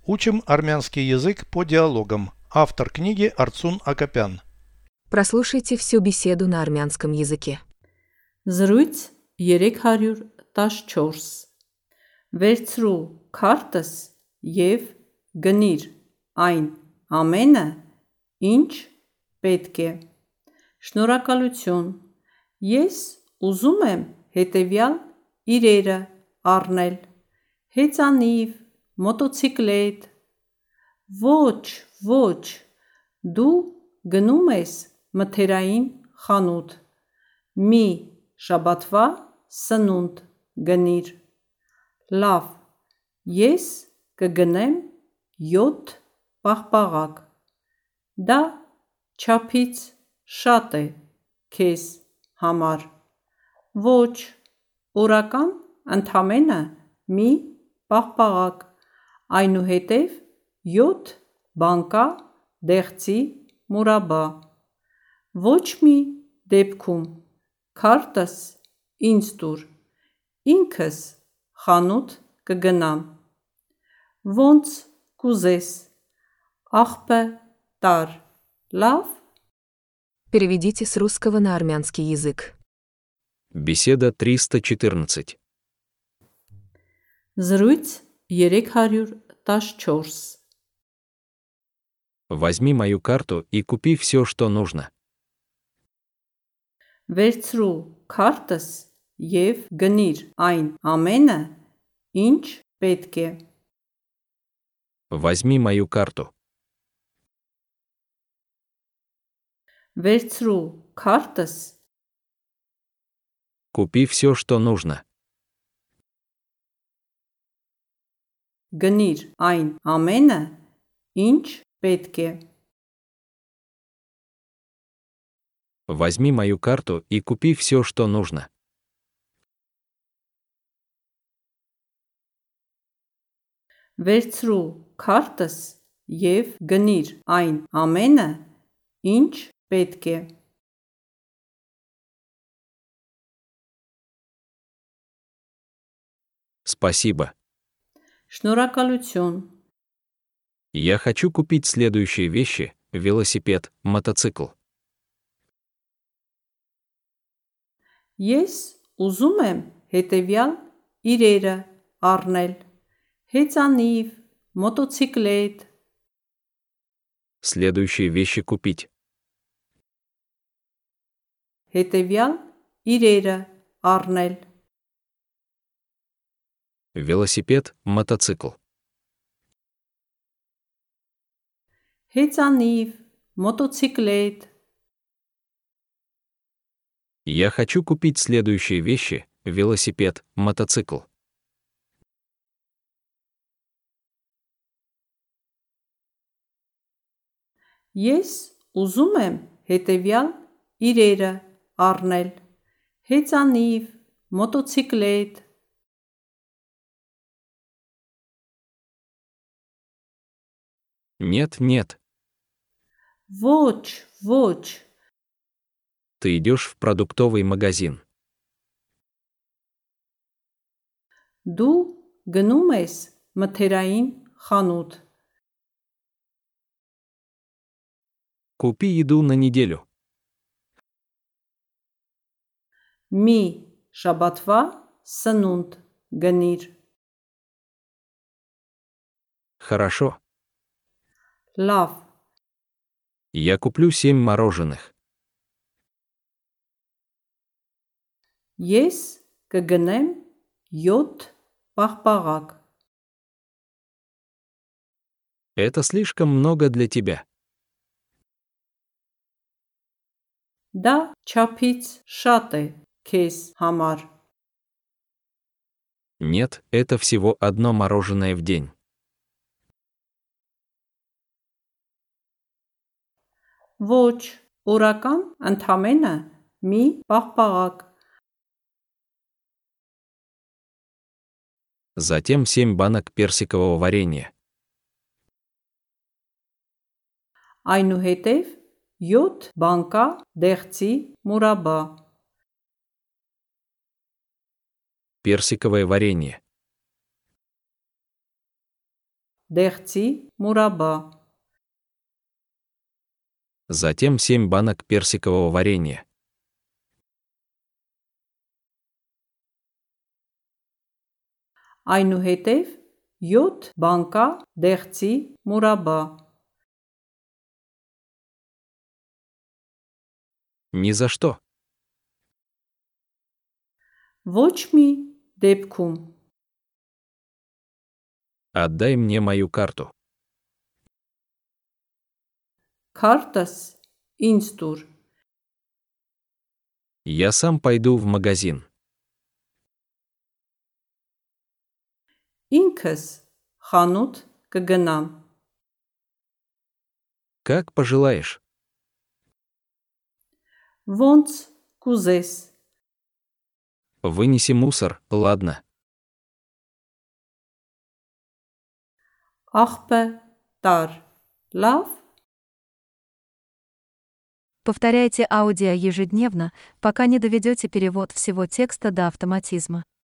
Учим армянский язык по диалогам. Автор книги Арцун Акопян. Прослушайте всю беседу на армянском языке. Զրույց 314 Վերցրու քարտս և գնիր այն ամենը, ինչ պետք է։ Շնորհակալություն։ Ես ուզում եմ հետևյալ իրերը առնել. հեծանիվ, մոտոցիկլետ։ Ոչ, դու գնում ես մթերային խանութ։ Մի շաբաթվա սնունդ գնիր։ Լավ, ես կգնեմ 7 պաղպաղակ։ Դա չափից շատ է քեզ համար։ Ոչ, օրական ընդամենը մի պաղպաղակ, այնուհետև 7 բանկա դեղցի մուրաբա։ Ոչ մի դեպքում քարտս ինձ տուր, ինքս խանութ կգնամ։ Ոնց կուզես, աղբը տար, լավ։ Переведите с русского на армянский язык. Беседа 314. Զրույց 314 Возьми мою карту и купи все, что нужно. Վերցրու քարտս և գնիր այն ամենը, ինչ պետք է։ Возьми мою карту. Վերցրու քարտս Купи все, что нужно. գնիր այն ամենը, ինչ պետք է։ Возьми мою карту и купи все, что нужно. Վերցրու քարտս և գնիր այն ամենը, ինչ պետք է։ Спасибо. Շնորհակալություն։ Я хочу купить следующие вещи: велосипед, мотоцикл. Ես ուզում եմ հետևյալ իրերը առնել. հեծանիվ, մոտոցիկլետ։ Следующие вещи купить: Հետևյալ իրերը առնել. велосипед, мотоцикл. հեծանիվ, մոտոցիկլետ։ Я хочу купить следующие вещи: велосипед, мотоцикл. Ես ուզում եմ հետևյալ իրերը առնել. հեծանիվ, մոտոցիկլետ։ Нет. Ոչ, Ты идешь в продуктовый магазин. դու գնում ես մթերային խանութ։ Купи еду на неделю. Մի շաբաթվա սնունդ գնիր։ Хорошо. Լավ, Я куплю 7 мороженых. ես կգնեմ 7 պաղպաղակ։ Это слишком много для тебя. Դա չափից շատ է քեզ համար։ Нет, это всего одно мороженое в день. Ոչ, օրական ընդամենը մի պաղպաղակ։ Затем 7 банок персикового варенья. Այնուհետև 7 բանկա դեղցի մուրաբա։ Персиковое варенье. դեղցի մուրաբա, Затем 7 банок персикового варенья. այնուհետև 7 բանկա դեղցի մուրաբա, Ни за что. ոչ մի դեպքում, Отдай мне мою карту. քարտս ինձ տուր, Я сам пойду в магазин. ինքս խանութ կգնամ, Как пожелаешь. ոնց կուզես, Вынеси мусор, ладно. աղբը տար, լավ, Повторяйте аудио ежедневно, пока не доведете перевод всего текста до автоматизма.